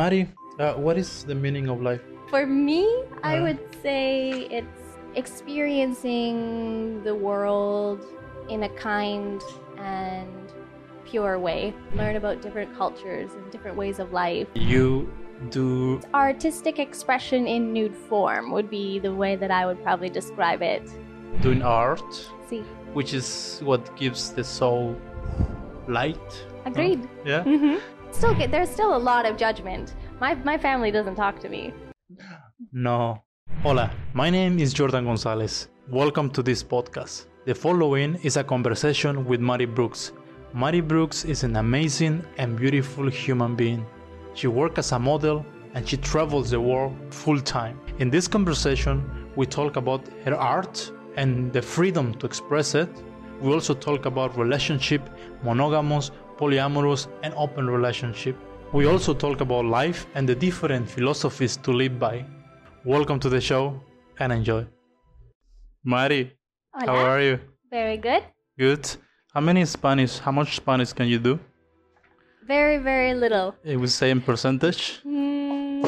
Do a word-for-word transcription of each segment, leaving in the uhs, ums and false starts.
Mari, uh, what is the meaning of life? For me, I Uh. would say it's experiencing the world in a kind and pure way. Learn about different cultures and different ways of life. You do Artistic expression in nude form would be the way that I would probably describe it. doing art, See, which is what gives the soul light. agreed. Huh? Yeah. Mm-hmm. Still, get, there's still a lot of judgment. My my family doesn't talk to me. No. Hola, my name is Jordan Gonzalez. Welcome to this podcast. The following is a conversation with Mari Brooks. Mari Brooks is an amazing and beautiful human being. She works as a model and she travels the world full time. In this conversation, we talk about her art and the freedom to express it. We also talk about relationship, monogamous, polyamorous, and open relationship. We also talk about life and the different philosophies to live by. Welcome to the show and enjoy. Mari, Hola. how are you? Very good. Good. How many Spanish, how much Spanish can you do? Very, very little. It would say in percentage? Mm,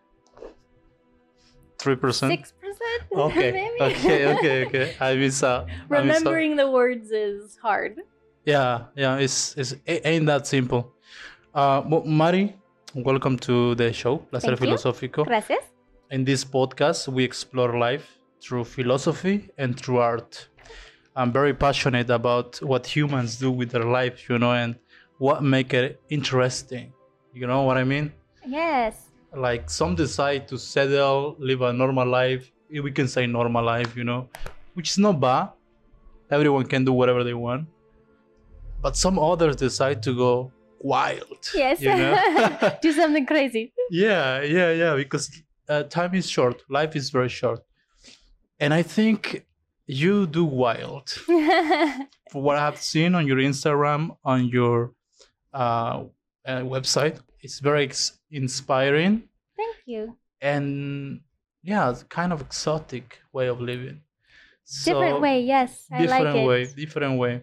three percent? Six percent, Okay, maybe. okay, okay, okay. I miss out. Remembering the words is hard. Yeah, yeah, it's, it's it ain't that simple. Uh, but Mari, welcome to the show, Placer Thank you. Filosófico. Gracias. In this podcast, we explore life through philosophy and through art. I'm very passionate about what humans do with their life, you know, and what make it interesting. You know what I mean? Yes. Like some decide to settle, live a normal life. We can say normal life, you know, which is not bad. Everyone can do whatever they want. But some others decide to go wild. Yes. You know? Do something crazy. Yeah, yeah, yeah. Because uh, time is short. Life is very short. And I think you do wild. For what I've seen on your Instagram, on your uh, uh, website, it's very ex- inspiring Thank you. and yeah, it's kind of exotic way of living. So, Different way, yes. I different like it. way, different way.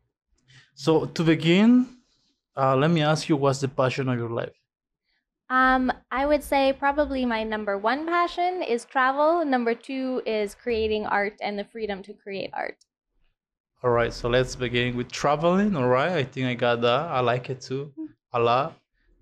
So to begin, uh, let me ask you, what's the passion of your life? Um, I would say probably my number one passion is travel. Number two is creating art and the freedom to create art. All right, so let's begin with traveling. All right, I think I got that. I like it too, a lot.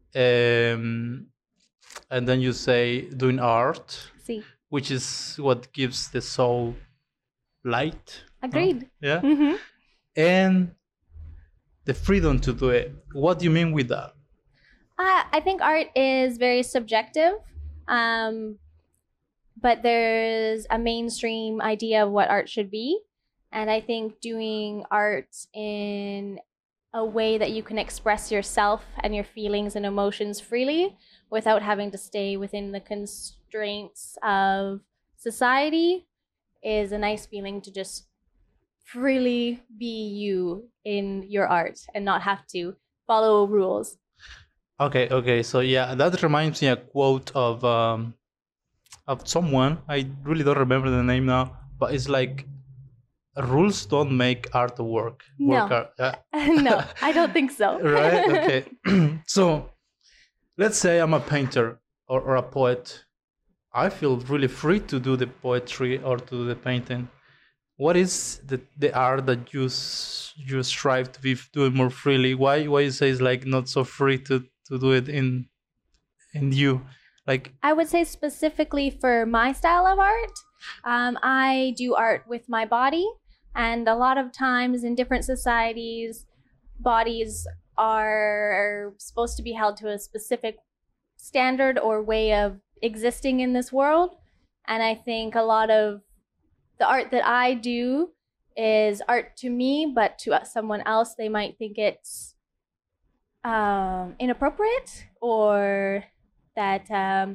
Um, and then you say doing art, See, which is what gives the soul light. no? agreed. Yeah. Mm-hmm. And the freedom to do it. What do you mean with that? Uh, I think art is very subjective, um, but there's a mainstream idea of what art should be. And I think doing art in a way that you can express yourself and your feelings and emotions freely without having to stay within the constraints of society is a nice feeling, to just freely be you in your art and not have to follow rules. Okay, okay. So yeah, that reminds me a quote of um of someone. I really don't remember the name now, but it's like rules don't make art work. No. Work art. Yeah. No, I don't think so. Right? Okay. So let's say I'm a painter or, or a poet. I feel really free to do the poetry or to do the painting. What is the, the art that you s- you strive to be doing more freely? Why why you say it's like not so free to, to do it in in you? Like I would say specifically for my style of art, um, I do art with my body. And a lot of times in different societies, bodies are supposed to be held to a specific standard or way of existing in this world. And I think a lot of the art that I do is art to me, but to someone else, they might think it's um, inappropriate, or that um,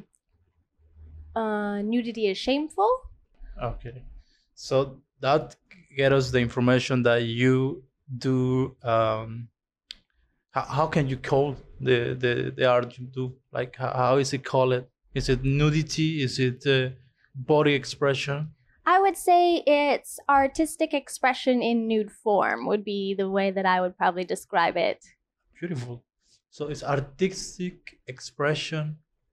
uh, nudity is shameful. okay. So that get us the information that you do. Um, how, how can you call the, the, the art you do? Like how, how is it called? Is it nudity? Is it uh, body expression? I would say it's artistic expression in nude form would be the way that I would probably describe it. Beautiful. So it's artistic expression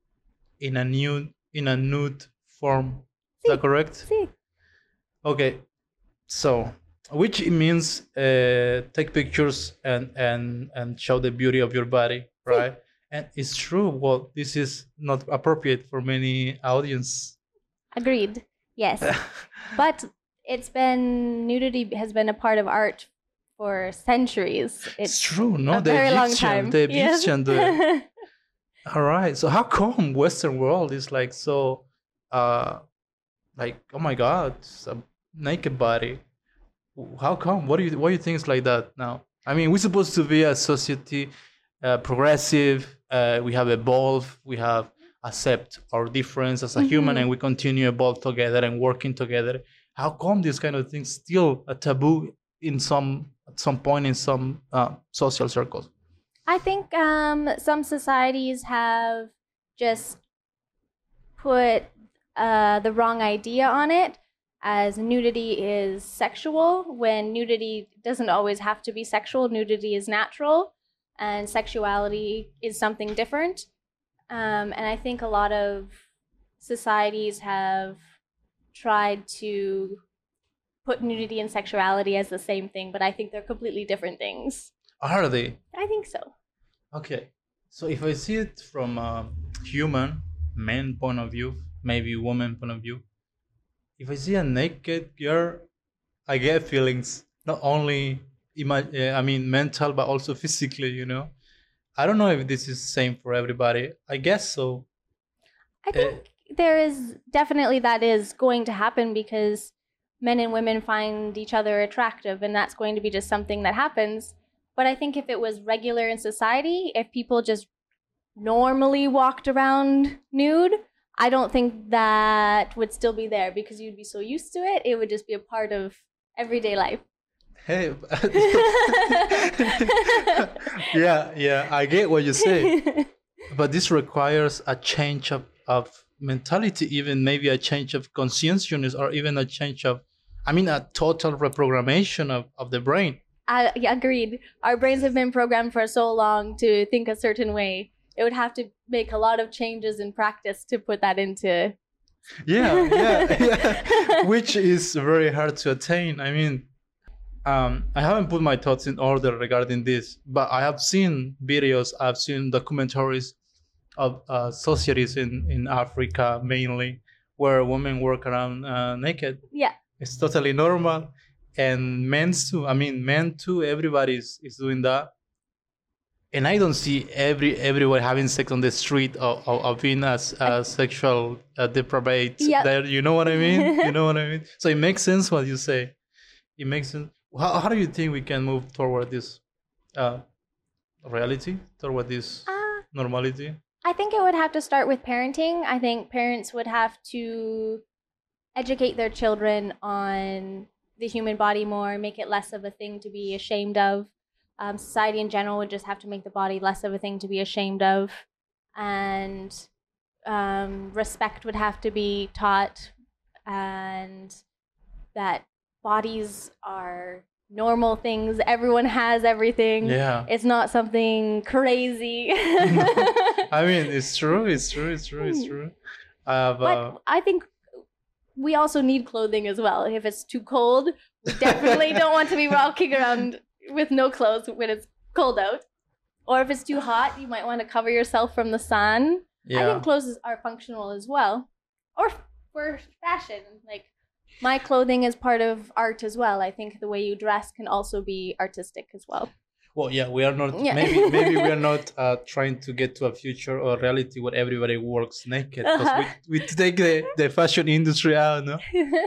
in a nude in a nude form. Is Sí. that correct? Sí. Okay. So, which it means uh, take pictures and and and show the beauty of your body, right? And it's true. Well, this is not appropriate for many audience. Agreed. Yes. But it's been nudity has been a part of art for centuries. It's true, no? a The very long Egyptian, time. the Yes. Egyptian, the all right. So how come Western world is like so, uh, like oh my God, it's a naked body? How come? What do you what do you think is like that now? I mean, we're supposed to be a society, uh, progressive. Uh, we have evolved. We have accept our difference as a human, Mhm. and we continue evolve together and working together. How come this kind of thing still a taboo in some at some point in some uh, social circles? I think um, some societies have just put uh, the wrong idea on it, as nudity is sexual, when nudity doesn't always have to be sexual. Nudity is natural, and sexuality is something different. Um, and I think a lot of societies have tried to put nudity and sexuality as the same thing, but I think they're completely different things. Are they? I think so. Okay. So if I see it from a human, man point of view, maybe woman point of view, if I see a naked girl, I get feelings, not only ima- uh, I mean mental, but also physically. You know, I don't know if this is the same for everybody. I guess so. I think there is definitely that is going to happen because men and women find each other attractive, and that's going to be just something that happens. But I think if it was regular in society, if people just normally walked around nude, I don't think that would still be there because you'd be so used to it. It would just be a part of everyday life. Hey, yeah, yeah, I get what you say, but this requires a change of, of mentality, even maybe a change of consciousness, or even a change of, I mean, a total reprogrammation of, of the brain. I yeah, agreed. Our brains have been programmed for so long to think a certain way. It would have to make a lot of changes in practice to put that into. Yeah, yeah, yeah. Which is very hard to attain. I mean, um, I haven't put my thoughts in order regarding this, but I have seen videos, I've seen documentaries of uh, societies in, in Africa mainly, where women walk around uh, naked. Yeah. It's totally normal. And men too. I mean, men too. Everybody is, is doing that. And I don't see every everyone having sex on the street or, or, or being as uh, sexual uh, depraved. Yep. There, you know what I mean? You know what I mean? So it makes sense what you say. It makes sense. How, how do you think we can move toward this uh, reality, toward this Uh, normality? I think it would have to start with parenting. I think parents would have to educate their children on the human body more, make it less of a thing to be ashamed of. Um, society in general would just have to make the body less of a thing to be ashamed of. And um, respect would have to be taught, and that bodies are normal things. Everyone has everything. Yeah. It's not something crazy. I mean, it's true, it's true, it's true, it's true. Uh, but But I think we also need clothing as well. If it's too cold, we definitely don't want to be walking around with no clothes when it's cold out. Or if it's too hot, you might want to cover yourself from the sun. I yeah. think clothes are functional as well. Or for fashion. Like, my clothing is part of art as well. I think the way you dress can also be artistic as well. Well, yeah, we are not. Yeah. Maybe, maybe we are not uh, trying to get to a future or reality where everybody works naked. Because Uh-huh. we, we take the, the fashion industry out, no?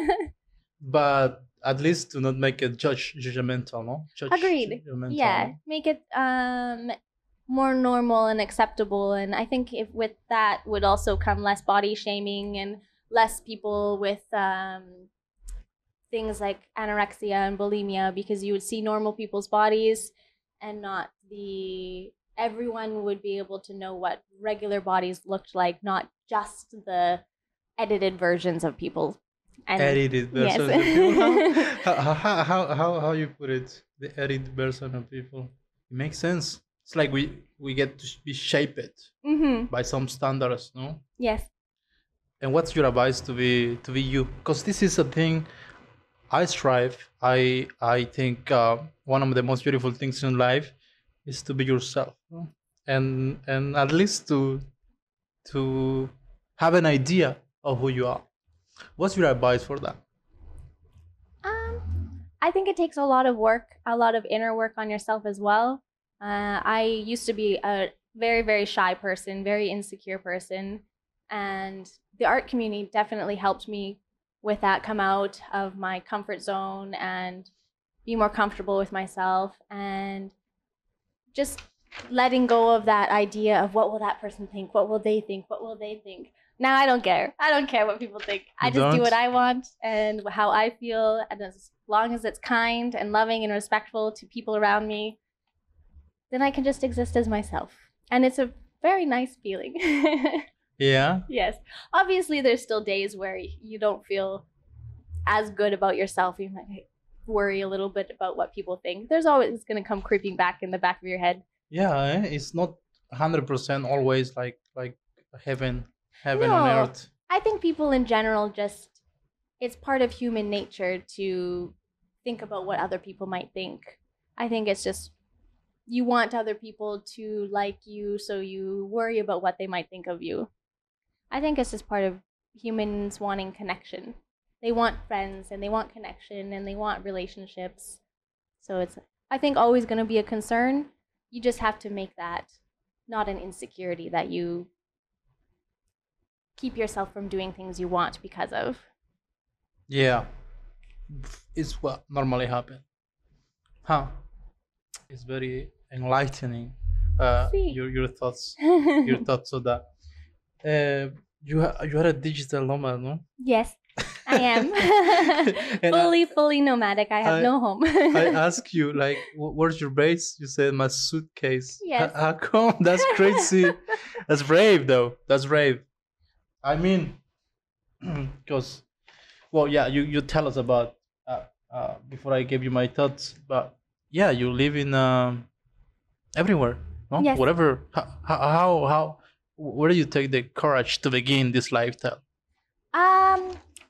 But at least to not make it judge judgmental, no? Judge, Agreed. judgmental, Yeah, no? make it um more normal and acceptable. And I think if with that would also come less body shaming and less people with um things like anorexia and bulimia, because you would see normal people's bodies and not the everyone would be able to know what regular bodies looked like, not just the edited versions of people. And Edited version of yes. people. How, how, how, how, how you put it? The edited version of people. It makes sense. it's like we we get to be shaped Mm-hmm. by some standards, no? Yes. And what's your advice to be to be you? Because this is a thing I strive. I I think uh, one of the most beautiful things in life is to be yourself, no? and and at least to to have an idea of who you are. What's your advice for that? Um, I think it takes a lot of work, a lot of inner work on yourself as well. Uh, I used to be a very, very shy person, very insecure person, and the art community definitely helped me with that, come out of my comfort zone and be more comfortable with myself, and just letting go of that idea of what will that person think, what will they think, what will they think. Now I don't care. I don't care what people think. I You just do don't? what I want and how I feel, and as long as it's kind and loving and respectful to people around me, then I can just exist as myself. And it's a very nice feeling. Yeah. Yes. Obviously, there's still days where you don't feel as good about yourself. You might worry a little bit about what people think. There's always going to come creeping back in the back of your head. Yeah, eh? It's not one hundred percent always like like heaven, heaven on No. earth. I think people in general just, it's part of human nature to think about what other people might think. I think it's just, you want other people to like you, so you worry about what they might think of you. I think it's just part of humans wanting connection. They want friends and they want connection and they want relationships. So it's, I think, always going to be a concern. You just have to make that not an insecurity that you keep yourself from doing things you want because of. Yeah, it's what normally happens. Huh? It's very enlightening. Uh, See. your your thoughts, your thoughts of that. Uh, you ha- you are a digital nomad, no? Yes, I am. And I- fully, fully nomadic. I have I- no home. I ask you, like, wh- where's your base? You said my suitcase. Yes. H- How come? That's crazy. That's brave, though. That's brave. I mean, because, well, yeah, you, you tell us about, uh, uh, before I gave you my thoughts, but yeah, you live in um, everywhere, no? Yes. Whatever. How, how, how, where do you take the courage to begin this lifestyle? Um,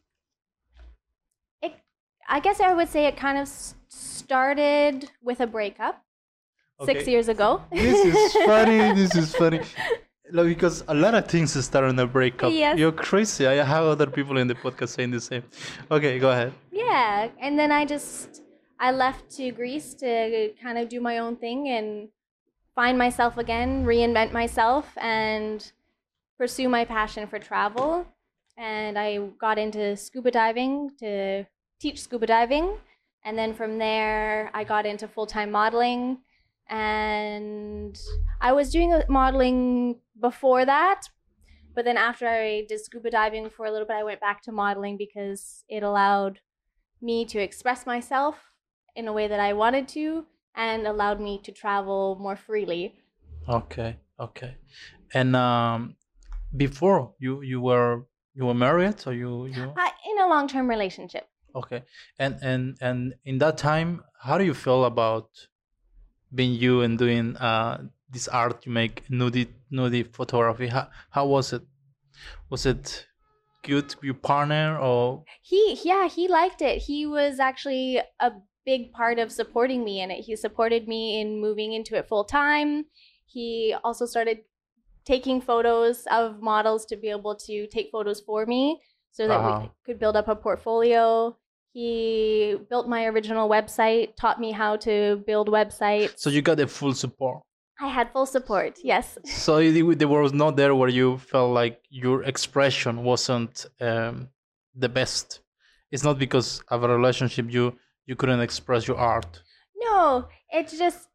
it. I guess I would say it kind of s- started with a breakup six Okay. years ago. This is funny. This is funny. Like, because a lot of things start on a breakup. Yes. You're crazy. I have other people in the podcast saying the same. Okay, go ahead. Yeah, and then I just I left to Greece to kind of do my own thing and find myself again, reinvent myself, and pursue my passion for travel. And I got into scuba diving to teach scuba diving, and then from there I got into full-time modeling. And I was doing uh, modeling before that, but then after I did scuba diving for a little bit, I went back to modeling because it allowed me to express myself in a way that I wanted to, and allowed me to travel more freely. Okay, okay. And um, before you you were you were married, or you you I, in a long-term relationship. okay. And and and in that time, how do you feel about being you and doing uh this art you make, nudie nudie photography? How how was it? Was it good with your partner, or He, yeah, he liked it. He was actually a big part of supporting me in it. He supported me in moving into it full time. He also started taking photos of models to be able to take photos for me so that Uh-huh. we could build up a portfolio. He built my original website, taught me how to build websites. so you got the full support? I had full support, yes. So it- there was not there where you felt like your expression wasn't um, the best. It's not because of a relationship you you couldn't express your art. No, it's just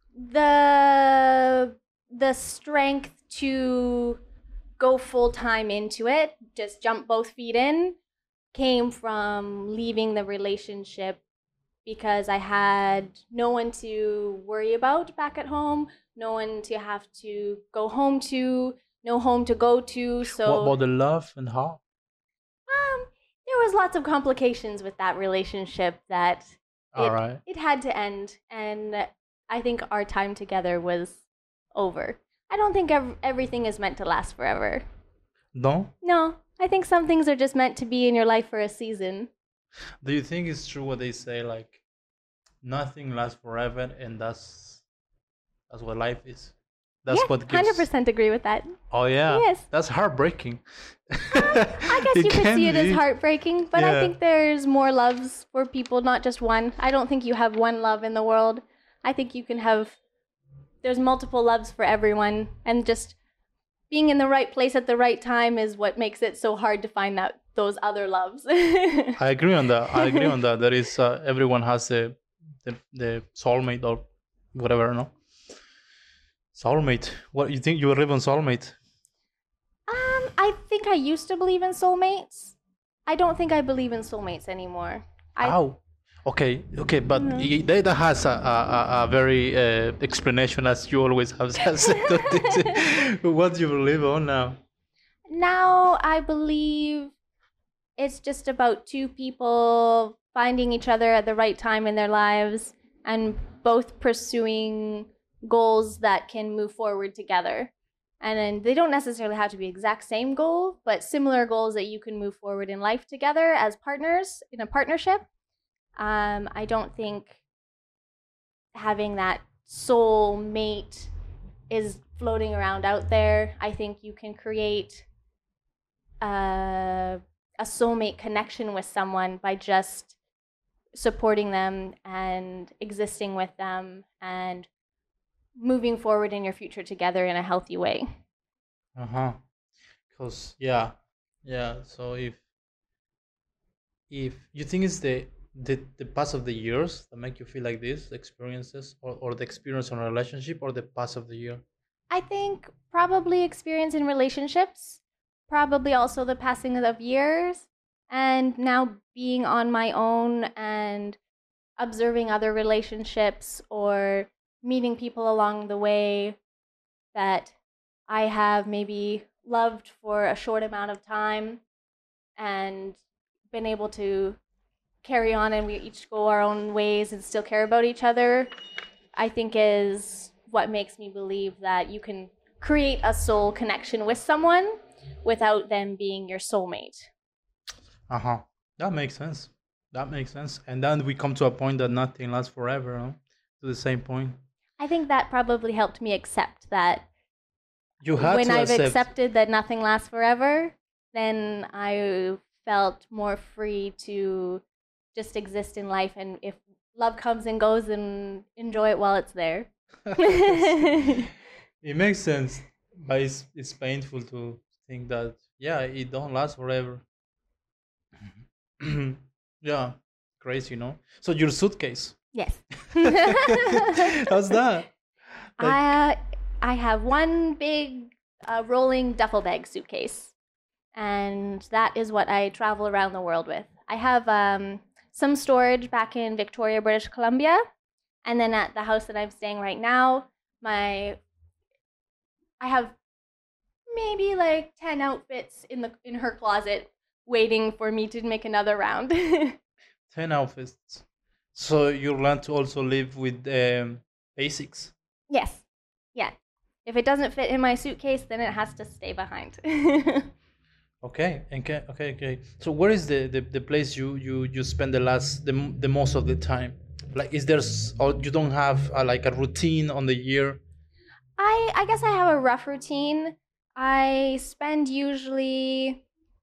the the strength to go full time into it, just jump both feet in, came from leaving the relationship because I had no one to worry about back at home, no one to have to go home to, no home to go to. So What about the love and how? um, there was lots of complications with that relationship that All it, right. it had to end, and I think our time together was over. I don't think ev- everything is meant to last forever. No? No, I think some things are just meant to be in your life for a season. Do you think it's true what they say, like nothing lasts forever, and that's that's what life is? That's yeah, what gives. one hundred percent agree with that. Oh yeah. Yes. That's heartbreaking. I guess It you could can see it be. as heartbreaking, but Yeah. I think there's more loves for people, not just one. I don't think you have one love in the world. I think you can have, there's multiple loves for everyone, and just being in the right place at the right time is what makes it so hard to find that those other loves. I agree on that. I agree on that. There is uh, everyone has a the, the soulmate or whatever, no? Soulmate. What you think you live on soulmate? Um, I think I used to believe in soulmates. I don't think I believe in soulmates anymore. I, How? Okay, okay, but Mhm. i- that that has a, a, a- a very uh, explanation, as you always have said. What do you believe on now? Now I believe it's just about two people finding each other at the right time in their lives and both pursuing goals that can move forward together. And then they don't necessarily have to be exact same goal, but similar goals that you can move forward in life together as partners in a partnership. Um, I don't think having that soul mate is floating around out there. I think you can create a, a soulmate connection with someone by just supporting them and existing with them and moving forward in your future together in a healthy way. Uh huh. Cause yeah, yeah. So if if you think it's the the the pass of the years that make you feel like this, the experiences, or, or the experience in a relationship, or the pass of the year. I think probably experience in relationships, probably also the passing of years, and now being on my own and observing other relationships or meeting people along the way that I have maybe loved for a short amount of time and been able to carry on, and we each go our own ways and still care about each other, I think is what makes me believe that you can create a soul connection with someone without them being your soulmate. Uh huh. That makes sense. That makes sense. And then we come to a point that nothing lasts forever. No? To the same point. I think that probably helped me accept that You had when to I've accept. accepted that nothing lasts forever, then I felt more free to just exist in life, and if love comes and goes, then enjoy it while it's there. It makes sense, but it's it's painful to think that yeah, it don't last forever. Yeah, crazy, you know. So your suitcase, Yes. how's that? Like, I I have one big uh, rolling duffel bag suitcase, and that is what I travel around the world with. I have um, some storage back in Victoria, British Columbia, and then at the house that I'm staying right now, my I have maybe like ten outfits in the in her closet waiting for me to make another round. ten outfits. So you learn to also live with um, basics. Yes. Yeah. If it doesn't fit in my suitcase, then it has to stay behind. Okay, okay, okay, okay. So where is the, the, the place you, you, you spend the last the, m- the most of the time? Like, is there s- or you don't have uh like a routine on the year? I I guess I have a rough routine. I spend usually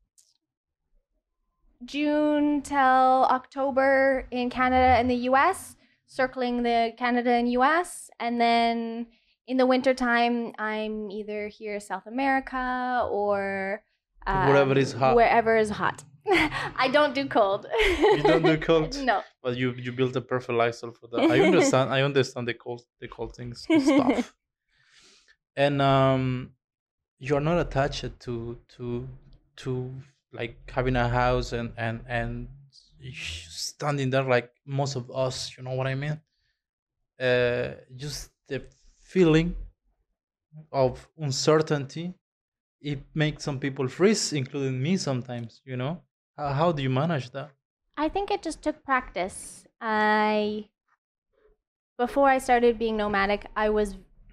June till October in Canada and the U S, circling the Canada and U S, and then in the wintertime, I'm either here South America or um, Wherever is hot. Wherever is hot. I don't do cold. You don't do cold? No. But you you built a perfect lifestyle for that. I understand. I understand the cold the cold things stuff. And um, you're not attached to to to like having a house and and and standing there like most of us. You know what I mean? Uh, just the feeling of uncertainty. It makes some people freeze, including me sometimes. You know, how, how do you manage that? I think it just took practice. I Before I started being nomadic, I was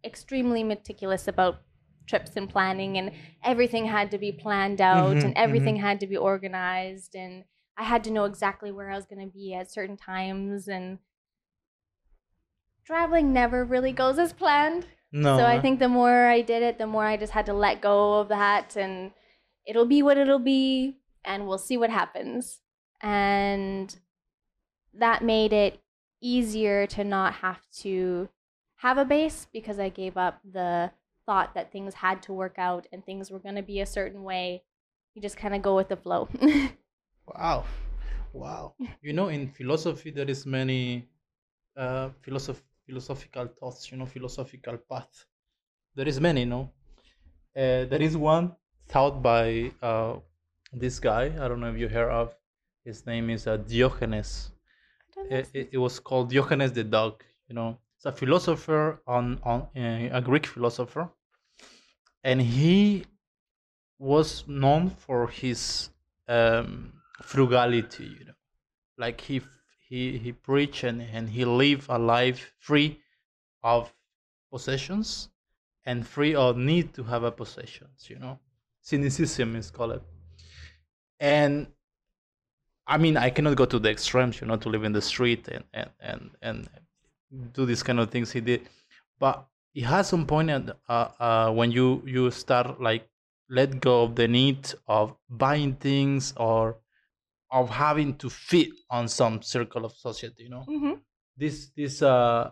extremely meticulous about trips and planning, and everything had to be planned out, Mm-hmm, and everything mm-hmm. had to be organized, and I had to know exactly where I was going to be at certain times, and traveling never really goes as planned. No, So I uh, think the more I did it, the more I just had to let go of that, and it'll be what it'll be, and we'll see what happens. And that made it easier to not have to have a base, because I gave up the thought that things had to work out and things were going to be a certain way. You just kind of go with the flow. wow, wow. You know, in philosophy, there is many uh, philosoph- philosophical thoughts. You know, philosophical path. There is many. No, uh, there is one thought by uh, this guy. I don't know if you heard of. His name is uh, Diogenes. It, it, it was called Diogenes the dog. You know, it's a philosopher on on uh, a Greek philosopher, and he was known for his um, frugality. You know, like he he he preached and, and he lived a life free of possessions and free of need to have a possessions. You know, cynicism is called. And I mean, I cannot go to the extremes, you know, to live in the street and and and, and do these kind of things he did. But it has some point at, uh, uh, when you you start like let go of the need of buying things or of having to fit on some circle of society. You know, Mm-hmm. this this uh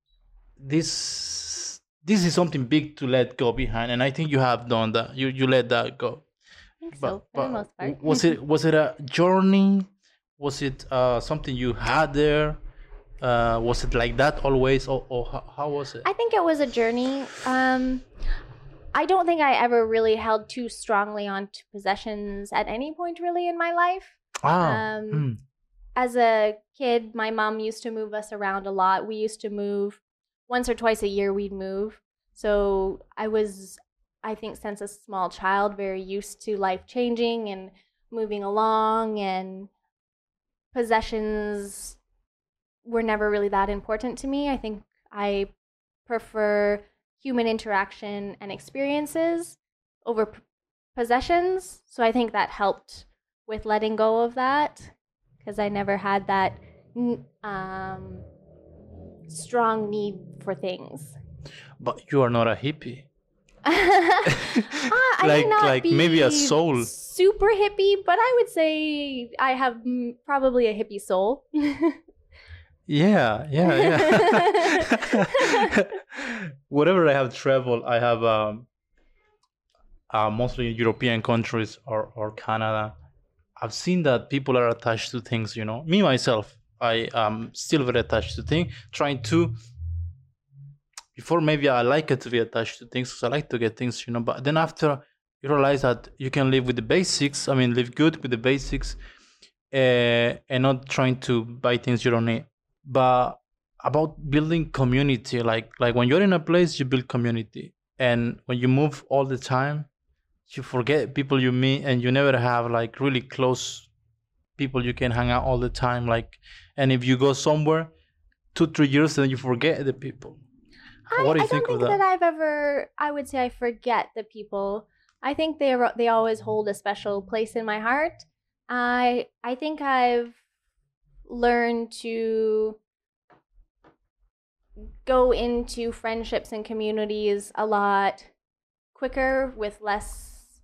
this this is something big to let go behind, and I think you have done that. You you let that go. I think But so, for the but most part. was it was it a journey? Was it uh, something you had there? Uh, was it like that always, or, or how, how was it? I think it was a journey. Um, I don't think I ever really held too strongly on to possessions at any point really in my life. Ah, Um, mm, as a kid, my mom used to move us around a lot. We used to move once or twice a year, we'd move. So I was, I think, since a small child, very used to life changing and moving along, and possessions were never really that important to me. I think I prefer human interaction and experiences over p- possessions. So I think that helped with letting go of that, because I never had that n- um, strong need for things. but you are not a hippie. Ah, I may like not like be maybe a soul. super hippie, but I would say I have mm, probably a hippie soul. Yeah, yeah, yeah. Whatever I have traveled, I have um, uh, mostly European countries or, or Canada. I've seen that people are attached to things, you know. Me, myself, I am still very attached to things, trying to, before maybe I like it to be attached to things because I like to get things, you know. But then after you realize that you can live with the basics, I mean, live good with the basics uh, and not trying to buy things you don't need. But about building community, like like when you're in a place, you build community. And when you move all the time, you forget people you meet and you never have like really close people you can hang out all the time, like, and if you go somewhere two three years then you forget the people. I, What do I you don't think of think that that? I've ever, I would say I forget the people. I think they are, they always hold a special place in my heart. I I think I've learned to go into friendships and communities a lot quicker with less.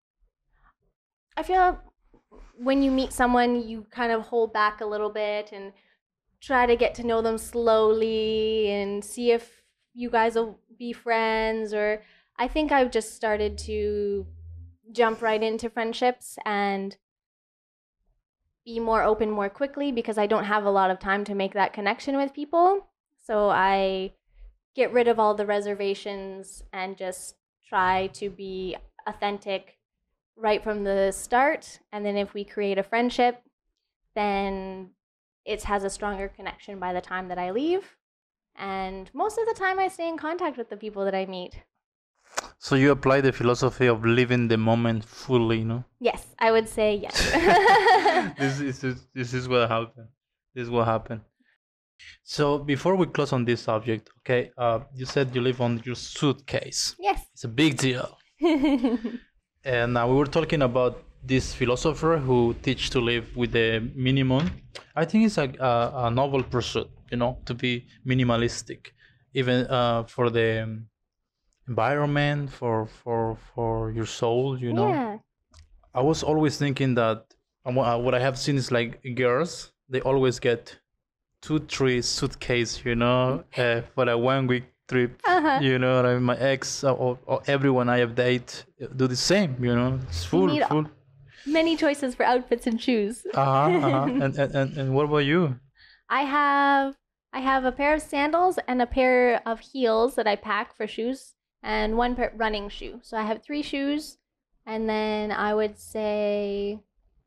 I feel when you meet someone, you kind of hold back a little bit and try to get to know them slowly and see if you guys will be friends. Or I think I've just started to jump right into friendships and be more open more quickly, because I don't have a lot of time to make that connection with people. So I get rid of all the reservations and just try to be authentic right from the start. And then if we create a friendship, then it has a stronger connection by the time that I leave. And most of the time, I stay in contact with the people that I meet. So you apply the philosophy of living the moment fully, you know? Yes, I would say yes. this is this is what happened. This is what happened. So before we close on this subject, okay, uh, you said you live on your suitcase. Yes. It's a big deal. And uh, we were talking about this philosopher who teach to live with the minimum. I think it's a, a, a noble pursuit, you know, to be minimalistic, even uh, for the environment, for for for your soul, you know. Yeah. I was always thinking that um, what what I have seen is like girls, they always get two, three suitcase, you know, uh, for a one week trip. Uh-huh. You know, I mean, my ex or, or everyone I have date do the same. You know, it's full, need full. Many choices for outfits and shoes. Uh huh. Uh-huh. and, and and and what about you? I have I have a pair of sandals and a pair of heels that I pack for shoes, and one pair running shoe. So I have three shoes, and then I would say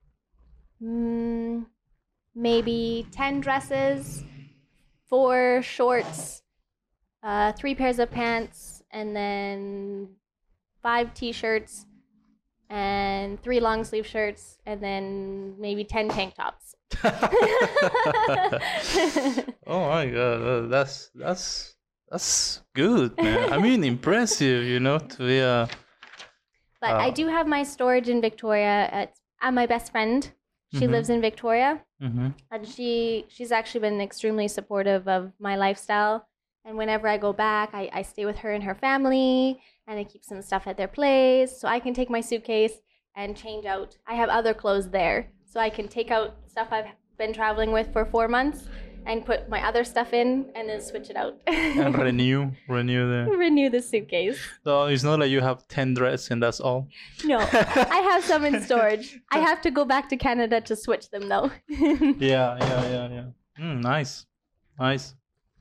mm, maybe ten dresses, four shorts, uh, three pairs of pants, and then five t-shirts, and three long sleeve shirts, and then maybe ten tank tops. Oh my god, uh, that's that's that's good, man. I mean, impressive, you know, to be a. But I Uh, do have my storage in Victoria. At, I'm my best friend. She Mhm. lives in Victoria, Mm-hmm. and she she's actually been extremely supportive of my lifestyle. And whenever I go back, I, I stay with her and her family, and I keep some stuff at their place, so I can take my suitcase and change out. I have other clothes there, so I can take out stuff I've been traveling with for four months and put my other stuff in, and then switch it out. And renew, renew the. Renew the suitcase. So it's not like you have ten dresses and that's all. No, I have some in storage. I have to go back to Canada to switch them though. Yeah, yeah, yeah, yeah. Mm, nice, nice,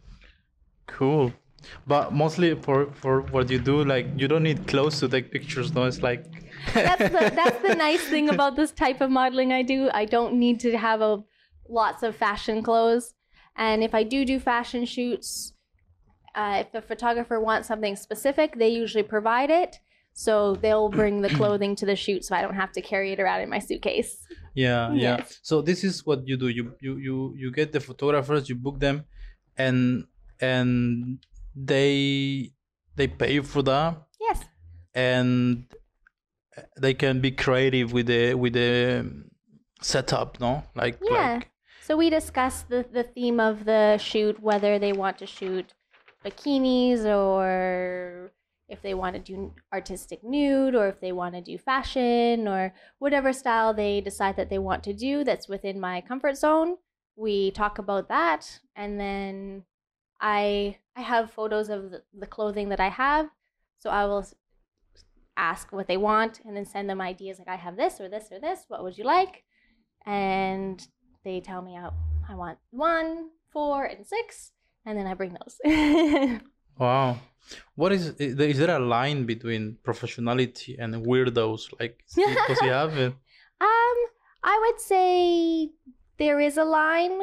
cool. But mostly for for what you do, like you don't need clothes to take pictures. No, it's like. That's the that's the nice thing about this type of modeling I do. I don't need to have a lots of fashion clothes, and if I do do fashion shoots, uh, if the photographer wants something specific, they usually provide it. So they'll bring the clothing to the shoot, so I don't have to carry it around in my suitcase. Yeah, yeah. Yes. So this is what you do. You you you you get the photographers, you book them, and and they they pay you for that, Yes. and they can be creative with the with the setup, no? Like Yeah. like So we discuss the, the theme of the shoot, whether they want to shoot bikinis or if they want to do artistic nude or if they want to do fashion or whatever style they decide that they want to do that's within my comfort zone. We talk about that, and then I I have photos of the, the clothing that I have, so I will s- ask what they want and then send them ideas like I have this or this or this. What would you like? And they tell me I, I want one, four, and six, and then I bring those. wow. What is is there is there a line between professionality and weirdos? Like because you have it. Um, I would say there is a line,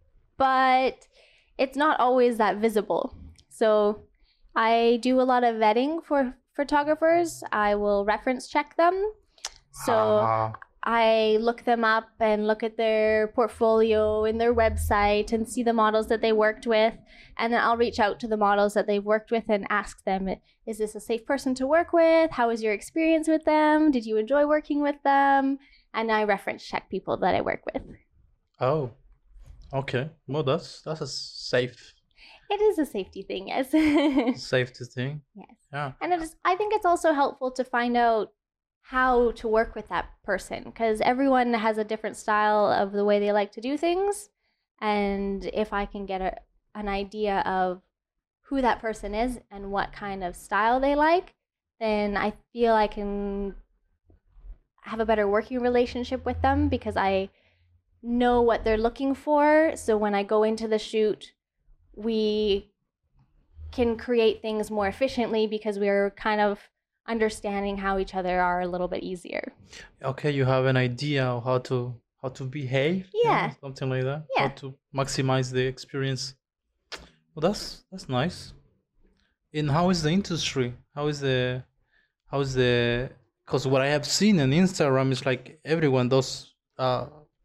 but it's not always that visible. So I do a lot of vetting for photographers. I will reference check them. So Ah, I look them up and look at their portfolio and their website and see the models that they worked with. And then I'll reach out to the models that they've worked with and ask them, is this a safe person to work with? How was your experience with them? Did you enjoy working with them? And I reference check people that I work with. oh, okay. Well, that's that's a safe It is a safety thing, yes. safety thing. Yes. Yeah. And it is, I think it's also helpful to find out how to work with that person because everyone has a different style of the way they like to do things. And if I can get a, an idea of who that person is and what kind of style they like, then I feel I can have a better working relationship with them because I know what they're looking for. So when I go into the shoot, we can create things more efficiently because we're kind of understanding how each other are a little bit easier. Okay, you have an idea of how to how to behave. you know, Yeah. something like that. Yeah. How to maximize the experience. Well, that's that's nice. And how is the industry? How is the how is the because what I have seen on Instagram is like everyone does uh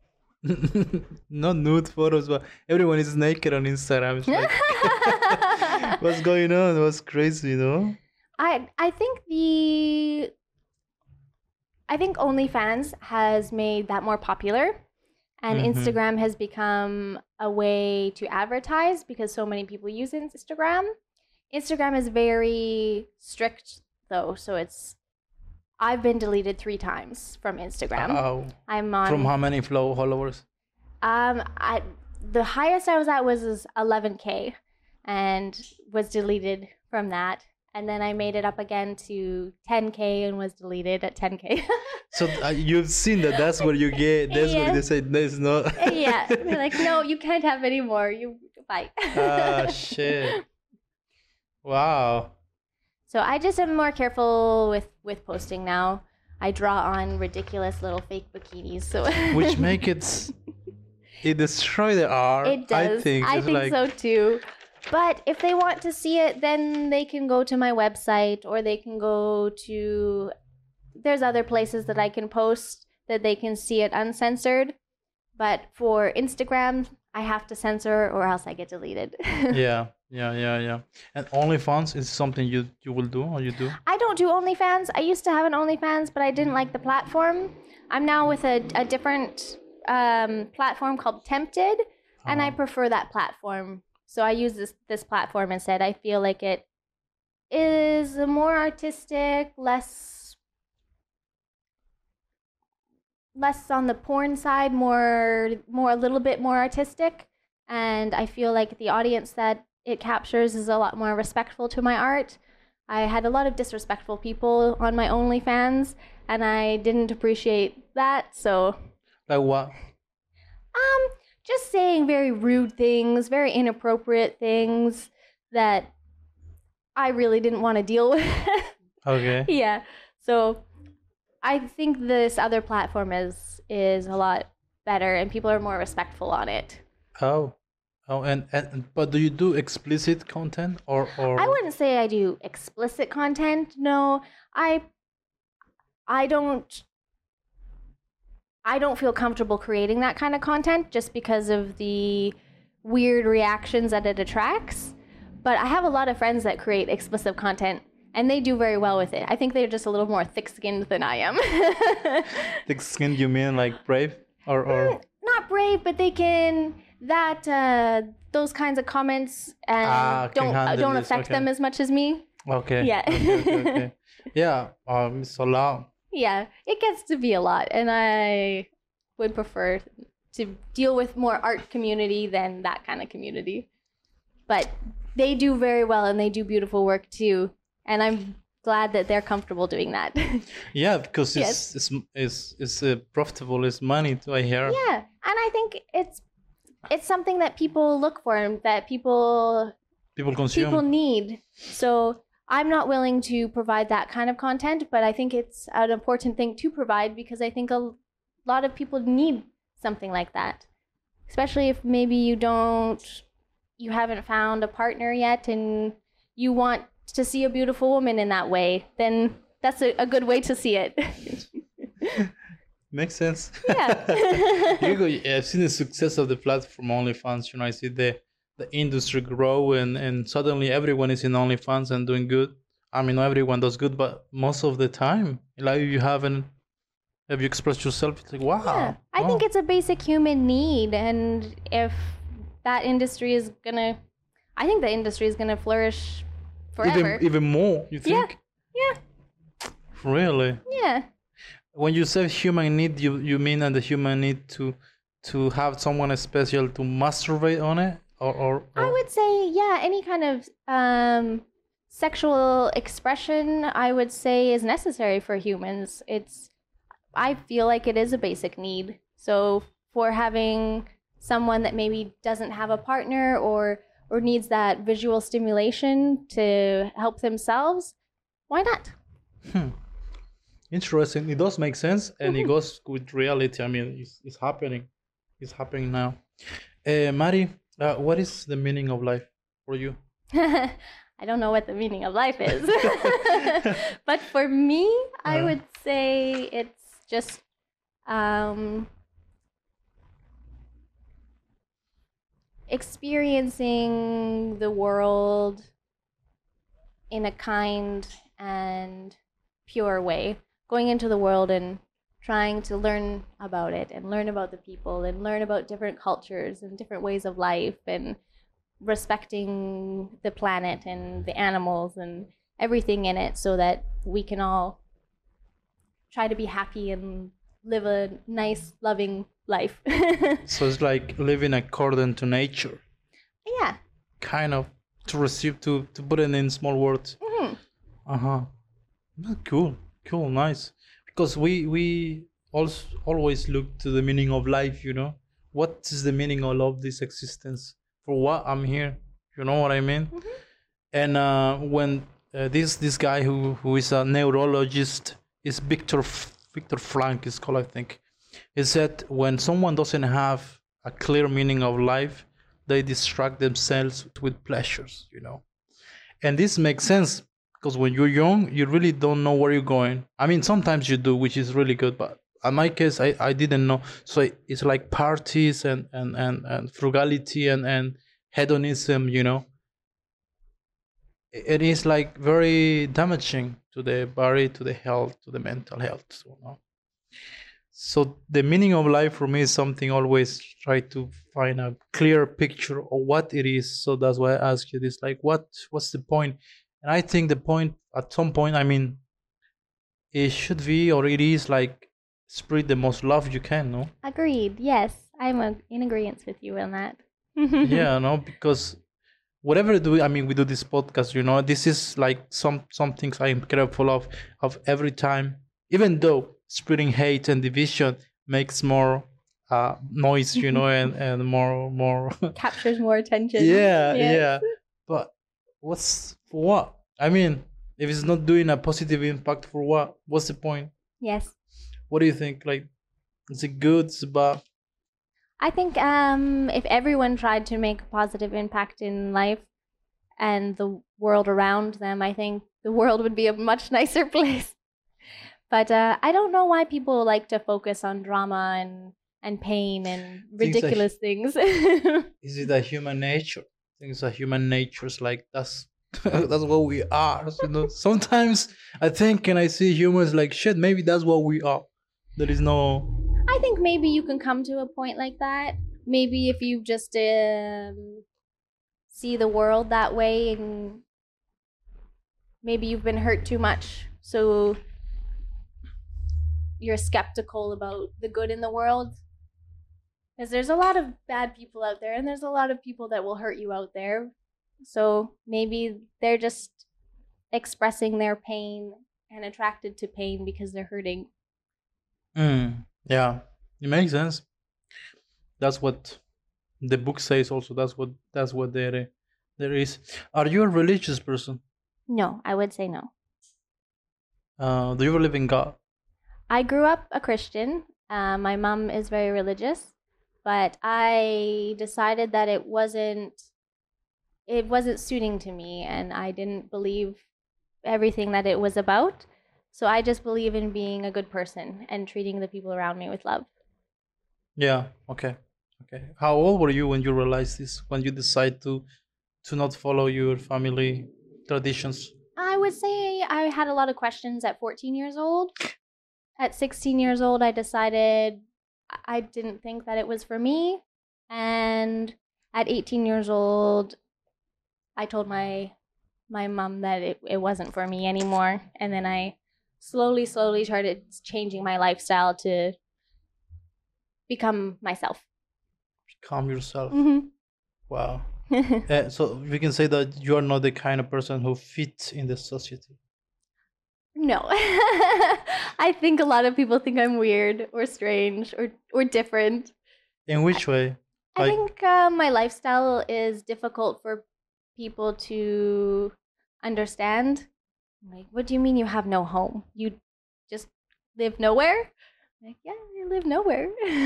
not nude photos, but everyone is naked on Instagram. It's like, what's going on? What's crazy, you know? I I think the I think OnlyFans has made that more popular, and Mhm. Instagram has become a way to advertise because so many people use Instagram. Instagram is very strict though, so it's I've been deleted three times from Instagram. Oh, I'm on from how many flow followers? um I the highest I was at was is eleven K and was deleted from that. And then I made it up again to ten K and was deleted at ten K. So uh, you've seen that that's where you get, that's where Yeah. they say there's no... Yeah. They're like, no, you can't have any more. You bye. Ah, shit. Wow. So I just am more careful with, with posting now. I draw on ridiculous little fake bikinis. So Which make it... It destroy the art, it does. I think. I It's think like, so too. But if they want to see it, then they can go to my website or they can go to. There's other places that I can post that they can see it uncensored. But for Instagram, I have to censor or else I get deleted. yeah, yeah, yeah, yeah. And OnlyFans is something you, you will do or you do? I don't do OnlyFans. I used to have an OnlyFans, but I didn't like the platform. I'm now with a, a different um, platform called Tempted, and I Uh-huh. prefer that platform. So I use this this platform instead. I feel like it is more artistic, less less on the porn side, more more a little bit more artistic, and I feel like the audience that it captures is a lot more respectful to my art. I had a lot of disrespectful people on my OnlyFans, and I didn't appreciate that. So, Like what? um, just saying very rude things, very inappropriate things that I really didn't want to deal with. Okay. Yeah. So I think this other platform is is a lot better and people are more respectful on it. Oh. Oh, and, and but do you do explicit content or or I wouldn't say I do explicit content. No. I I don't I don't feel comfortable creating that kind of content just because of the weird reactions that it attracts. But I have a lot of friends that create explicit content and they do very well with it. I think they're just a little more thick-skinned than I am. thick skin? You mean like brave or or? Not brave, but they can that uh, those kinds of comments and Ah, can don't handle don't this, affect okay. them as much as me. Okay. Yeah. Okay, okay, okay. Yeah. Um. It's a lot. Yeah, it gets to be a lot, and I would prefer to deal with more art community than that kind of community. But they do very well, and they do beautiful work too, and I'm glad that they're comfortable doing that. Yeah, because it's Yes. it's it's it's uh, profitable. It's money. To I hear. Yeah, and I think it's it's something that people look for and that people People consume. people need. So I'm not willing to provide that kind of content, but I think it's an important thing to provide because I think a lot of people need something like that. Especially if maybe you don't, you haven't found a partner yet and you want to see a beautiful woman in that way, then that's a, a good way to see it. Makes sense. Yeah. You go, I've seen the success of the platform OnlyFans. You know, I see the the industry grow, and, and suddenly everyone is in OnlyFans and doing good. I mean, not everyone does good, but most of the time, like you haven't, have you expressed yourself? It's like, wow. Yeah, I wow. think it's a basic human need, and if that industry is gonna, I think the industry is gonna flourish forever. even even more. You Yeah. think? Yeah, Really? yeah, When you say human need, you you mean that the human need to to have someone special to masturbate on it, or or, I or- would say yeah. Any kind of um, sexual expression, I would say, is necessary for humans. It's, I feel like it is a basic need. So for having someone that maybe doesn't have a partner or or needs that visual stimulation to help themselves, why not? Hmm. Interesting. It does make sense, and it goes with reality. I mean, it's, it's happening. It's happening now. Uh, Mari, uh, what is the meaning of life for you? I don't know what the meaning of life is. But for me, I Uh. would say it's just um, experiencing the world in a kind and pure way, going into the world and trying to learn about it and learn about the people and learn about different cultures and different ways of life and respecting the planet and the animals and everything in it so that we can all try to be happy and live a nice, loving life. So it's like living according to nature. Yeah. Kind of, to receive, to, to put it in small words. Mm-hmm. Uh-huh. Cool, cool, nice. Because we we also always look to the meaning of life, you know? What is the meaning of all this existence? For what I'm here? You know what I mean? Mm-hmm. And uh, when uh, this this guy who, who is a neurologist, is Victor F- Victor Frank is called, I think. He said when someone doesn't have a clear meaning of life, they distract themselves with pleasures, you know. And this makes sense because when you're young, you really don't know where you're going. I mean, sometimes you do, which is really good, but in my case, I, I didn't know. So it's like parties and, and, and, and frugality and, and hedonism, you know. It is like very damaging to the body, to the health, to the mental health. So, you know? So the meaning of life for me is something always try to find a clear picture of what it is. So that's why I ask you this, like, what what's the point? And I think the point, at some point, I mean, it should be, or it is, like, spread the most love you can, no? Agreed. Yes, I'm a, in agreement with you on that. Yeah, no, because whatever do I mean, we do this podcast, you know, this is like some some things I am careful of of every time, even though spreading hate and division makes more uh, noise, you know, and, and more more captures more attention. Yeah, Yes. yeah. But what's for what? I mean, if it's not doing a positive impact, for what? What's the point? Yes. What do you think? Like, is it good? Is it bad? I think um, if everyone tried to make a positive impact in life and the world around them, I think the world would be a much nicer place. But uh, I don't know why people like to focus on drama and, and pain and ridiculous things. Is it a human nature? I think it's a human nature. It's like, that's that's what we are. You know? Sometimes I think, and I see humans like, shit, maybe that's what we are. There is no... I think maybe you can come to a point like that. Maybe if you just um, see the world that way, and maybe you've been hurt too much, so you're skeptical about the good in the world. Because there's a lot of bad people out there, and there's a lot of people that will hurt you out there. So maybe they're just expressing their pain and attracted to pain because they're hurting. Mm, yeah, it makes sense. That's what the book says. Also, that's what that's what there there is. Are you a religious person? No, I would say no. Uh, do you believe in God? I grew up a Christian. Uh, my mom is very religious, but I decided that it wasn't it wasn't suiting to me, and I didn't believe everything that it was about. So I just believe in being a good person and treating the people around me with love. Yeah. Okay. Okay. How old were you when you realized this? When you decide to to not follow your family traditions? I would say I had a lot of questions at fourteen years old. At sixteen years old, I decided I didn't think that it was for me. And at eighteen years old, I told my my mom that it, it wasn't for me anymore. And then I slowly, slowly started changing my lifestyle to become myself. Become yourself. Mm-hmm. Wow. uh, so we can say that you are not the kind of person who fits in the society. No. I think a lot of people think I'm weird or strange or, or different. In which way? I Like, think uh, my lifestyle is difficult for people to understand. Like, what do you mean you have no home? You just live nowhere? Like, yeah, I live nowhere.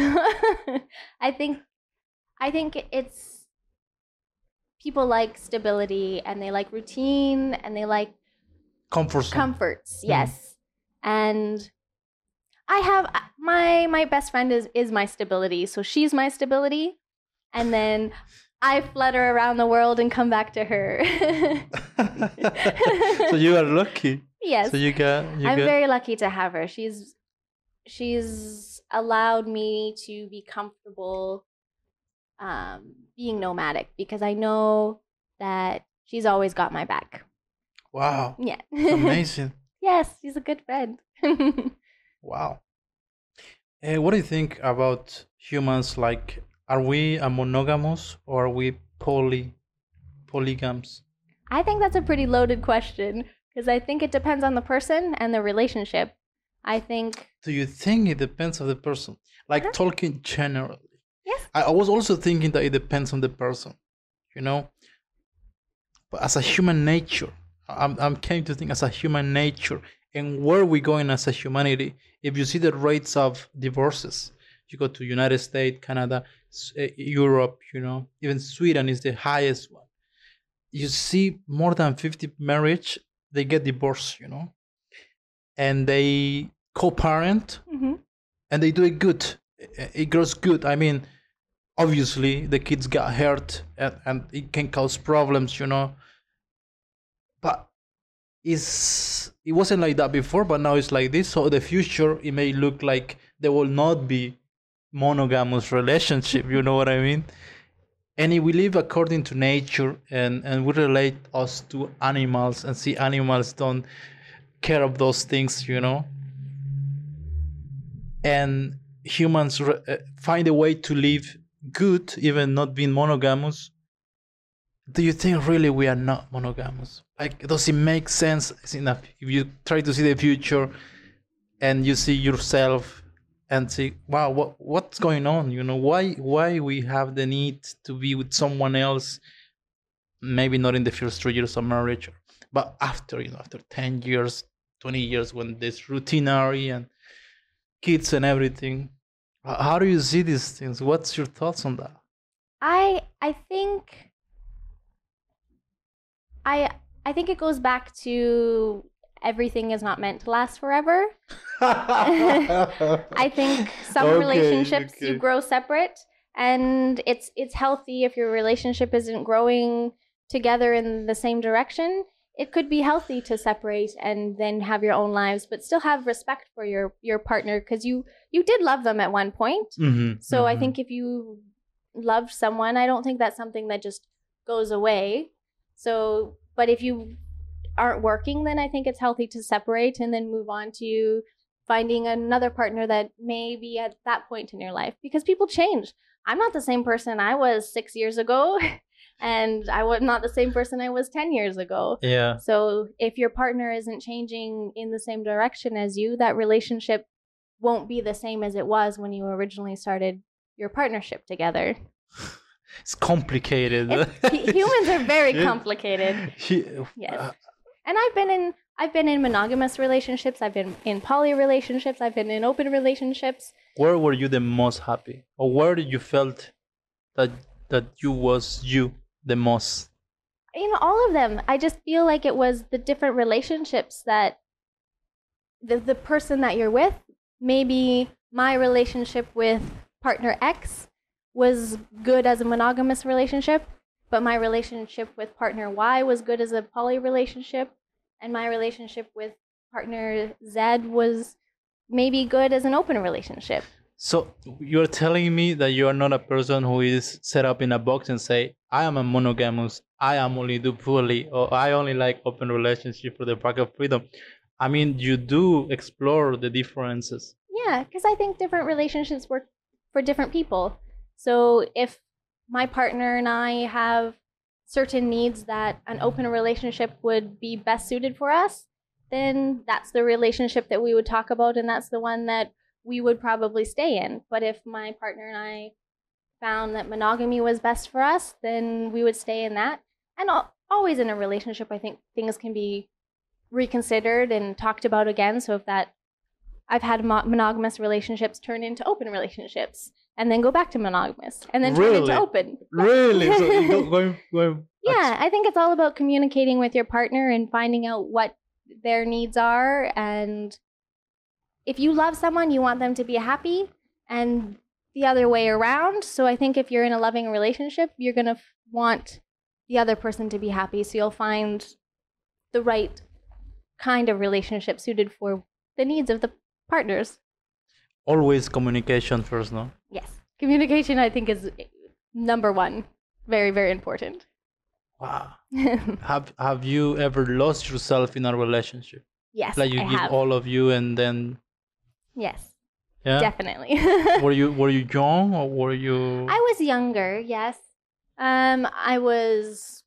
I think, I think it's people like stability and they like routine and they like comfort zone. comforts. Yes, and I have my my best friend is is my stability, so she's my stability. And then I flutter around the world and come back to her. So you are lucky. Yes. So you got. You I'm got... very lucky to have her. She's she's allowed me to be comfortable um, being nomadic because I know that she's always got my back. Wow. Yeah. Amazing. Yes, she's a good friend. Wow. Uh, what do you think about humans? Like, are we a monogamous or are we poly polygams? I think that's a pretty loaded question because I think it depends on the person and the relationship. I think. Do you think it depends on the person? Like uh-huh. talking generally. Yes. I, I was also thinking that it depends on the person, you know. But as a human nature, I'm I'm came to think as a human nature and where we going as a humanity. If you see the rates of divorces, you go to United States, Canada, Europe, you know, even Sweden is the highest one. You see more than fifty marriage, they get divorced, you know, and they co-parent, mm-hmm. and they do it good. It grows good. I mean, obviously the kids got hurt and, and it can cause problems, you know, but it's, it wasn't like that before, but now it's like this. So the future, it may look like there will not be monogamous relationship, you know what I mean? And if we live according to nature and, and we relate us to animals and see animals don't care of those things, you know, and humans re- find a way to live good, even not being monogamous, do you think really we are not monogamous? Like, does it make sense enough if you try to see the future and you see yourself and say, wow, what what's going on? You know, why why we have the need to be with someone else? Maybe not in the first three years of marriage, but after, you know, after ten years, twenty years, when there's routinary and kids and everything. How do you see these things? What's your thoughts on that? I I think I I think it goes back to everything is not meant to last forever. I think some okay, relationships okay. you grow separate, and it's it's healthy if your relationship isn't growing together in the same direction. It could be healthy to separate and then have your own lives, but still have respect for your, your partner because you, you did love them at one point. Mm-hmm, so mm-hmm. I think if you loved someone, I don't think that's something that just goes away. So, but if you aren't working, then I think it's healthy to separate and then move on to finding another partner that may be at that point in your life because people change. I'm not the same person I was six years ago. And I was not the same person I was ten years ago. Yeah. So if your partner isn't changing in the same direction as you, that relationship won't be the same as it was when you originally started your partnership together. It's complicated. It's, humans are very complicated. Yeah. Yes. And I've been in I've been in monogamous relationships. I've been in poly relationships. I've been in open relationships. Where were you the most happy? Or where did you felt that that you was you the most? You know, all of them. I just feel like it was the different relationships that the the person that you're with. Maybe my relationship with partner X was good as a monogamous relationship, but my relationship with partner Y was good as a poly relationship, and my relationship with partner Z was maybe good as an open relationship. So you're telling me that you are not a person who is set up in a box and say, I am a monogamous, I am only do poly, or I only like open relationship for the pack of freedom. I mean, you do explore the differences. Yeah, because I think different relationships work for different people. So if my partner and I have certain needs that an open relationship would be best suited for us, then that's the relationship that we would talk about, and that's the one that we would probably stay in. But if my partner and I found that monogamy was best for us, then we would stay in that. And always in a relationship, I think things can be reconsidered and talked about again. So if that, I've had monogamous relationships turn into open relationships and then go back to monogamous and then really? turn into open. Really? So you go, going, going yeah, I think it's all about communicating with your partner and finding out what their needs are. And if you love someone, you want them to be happy, and the other way around. So I think if you're in a loving relationship, you're going to f- want the other person to be happy. So you'll find the right kind of relationship suited for the needs of the partners. Always communication first, no? Yes. Communication, I think, is number one. Very, very important. Wow. have Have you ever lost yourself in a relationship? Yes, Like you I give have. all of you and then Yes, yeah. definitely. were you Were you young or were you? I was younger, yes. Um, I was.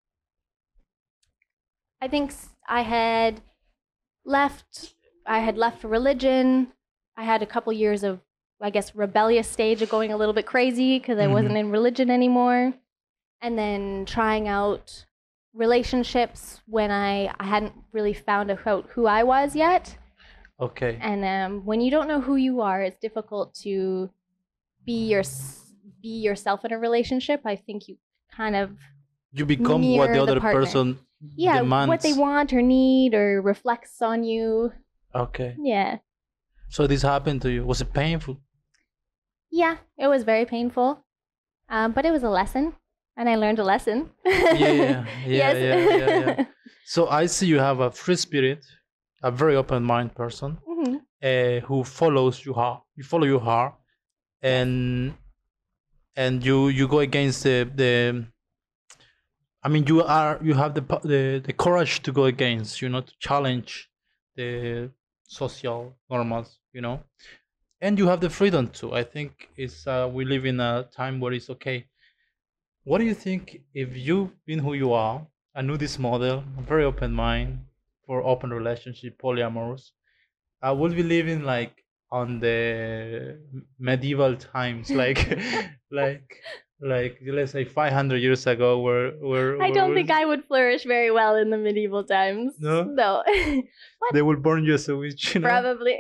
I think s- I had left. I had left religion. I had a couple years of, I guess, rebellious stage of going a little bit crazy because I Mhm. wasn't in religion anymore, and then trying out relationships when I I hadn't really found out who I was yet. Okay. And um, when you don't know who you are, it's difficult to be your be yourself in a relationship. I think you kind of You become what mirror the the other partner. person yeah demands. what they want or need or reflects on you. Okay. Yeah, So this happened to you. Was it painful? yeah, it was very painful, um, but it was a lesson, and I learned a lesson. Yeah, yeah, yeah, Yes. yeah, yeah, yeah. So I see you have a free spirit, a very open mind person, Mhm. uh, who follows you heart. You follow your heart, and and you you go against the the. I mean, you are you have the po- the the courage to go against, you know, to challenge the social normals, you know, and you have the freedom to. I think it's uh, we live in a time where it's okay. What do you think if you've been who you are, a nudist model, a very open mind for open relationship, polyamorous? I would be living like on the medieval times, like like like let's say five hundred years ago, where where I don't where think I would flourish very well in the medieval times. No? No. they will burn you as a witch. You know? Probably.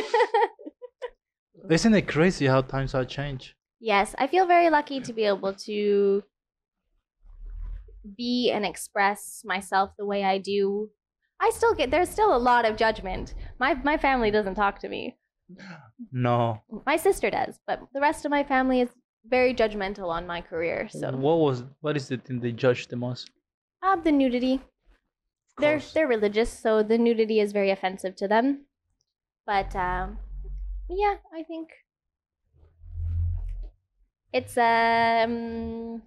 Isn't it crazy how times have changed? Yes, I feel very lucky to be able to be and express myself the way I do. I still get there's still a lot of judgment. My my family doesn't talk to me. No. My sister does, but the rest of my family is very judgmental on my career. So, What was what is the thing they judge the most? uh, the nudity. Of They're course. they're religious, so the nudity is very offensive to them. But um, yeah, I think it's um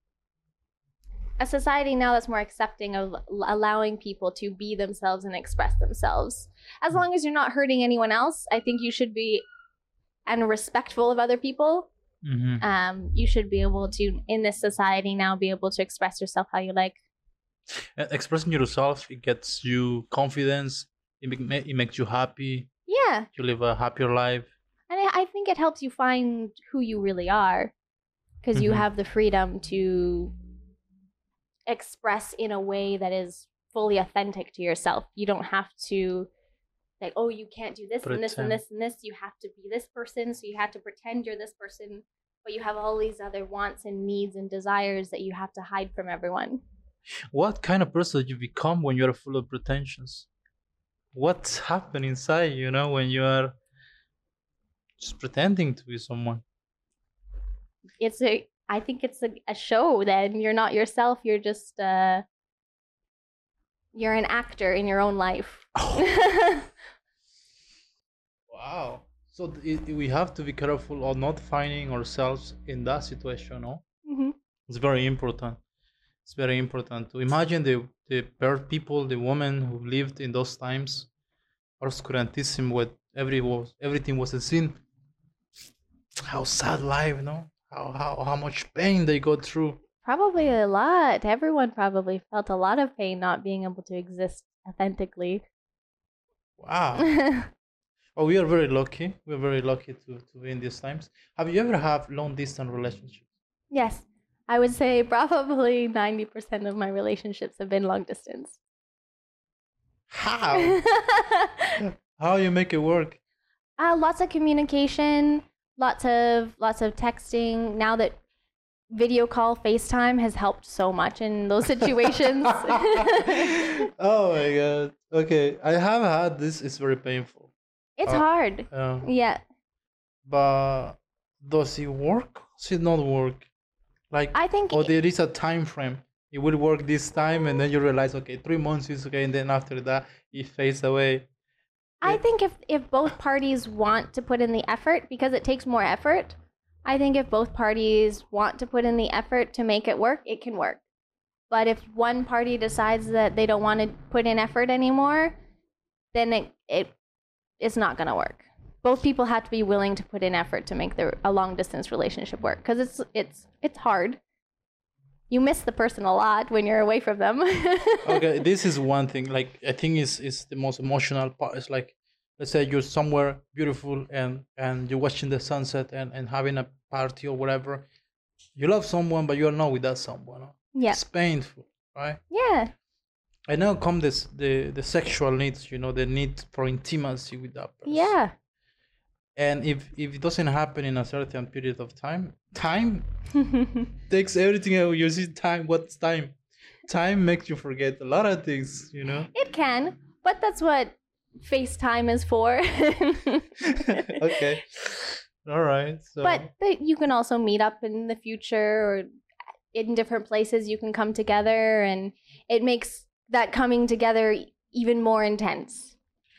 a society now that's more accepting of l- allowing people to be themselves and express themselves. As long as you're not hurting anyone else, I think you should be and respectful of other people. Mhm. Um, you should be able to, in this society now, be able to express yourself how you like. Uh, Expressing yourself, it gets you confidence. It, make, ma- it makes you happy. Yeah, You live a happier life. and I, I think it helps you find who you really are, because you Mhm. have the freedom to express in a way that is fully authentic to yourself. You don't have to like, oh, you can't do this and this and Pretend. this and this. You have to be this person, so you have to pretend you're this person, but you have all these other wants and needs and desires that you have to hide from everyone. What kind of person you become when you're full of pretensions? What's happening inside, you know, when you are just pretending to be someone? It's a, I think it's a, a show. Then you're not yourself. You're just, uh, you're an actor in your own life. Wow. So th- it, we have to be careful of not finding ourselves in that situation, no? Mhm. It's very important. It's very important to imagine the the per- people, the women who lived in those times, obscurantism, with every was everything was a sin. How sad life, no? How how how much pain they go through. Probably a lot. Everyone probably felt a lot of pain not being able to exist authentically. Wow. Oh, we are very lucky. We're very lucky to, to be in these times. Have you ever have long distance relationships? Yes, I would say probably ninety percent of my relationships have been long distance. How? How you make it work? uh, lots of communication, lots of lots of texting. Now that video call, FaceTime has helped so much in those situations. Oh my god. Okay, I have had this. It's very painful. It's Uh, hard. Uh, Yeah. but does it work? Does it not work? Like, I think or it- there is a time frame. It will work this time, and then you realize, okay, three months is okay, and then after that, it fades away. I It- think if, if both parties want to put in the effort, because it takes more effort, I think if both parties want to put in the effort to make it work, it can work. But if one party decides that they don't want to put in effort anymore, then it, it it's not going to work. Both people have to be willing to put in effort to make their a long distance relationship work, because it's it's it's hard. You miss the person a lot when you're away from them. Okay, this is one thing. Like, I think is is the most emotional part. It's like, let's say you're somewhere beautiful and and you're watching the sunset and and having a party or whatever. You love someone, but you're not with that someone. Yeah. It's painful, right? Yeah. And now come this the the sexual needs. You know, the need for intimacy with that person. Yeah. And if if it doesn't happen in a certain period of time, time takes everything out. You see, time. What's time? Time makes you forget a lot of things. You know. It can, but that's what FaceTime is for. Okay. All right. So. But the, you can also meet up in the future, or in different places you can come together, and it makes that coming together even more intense.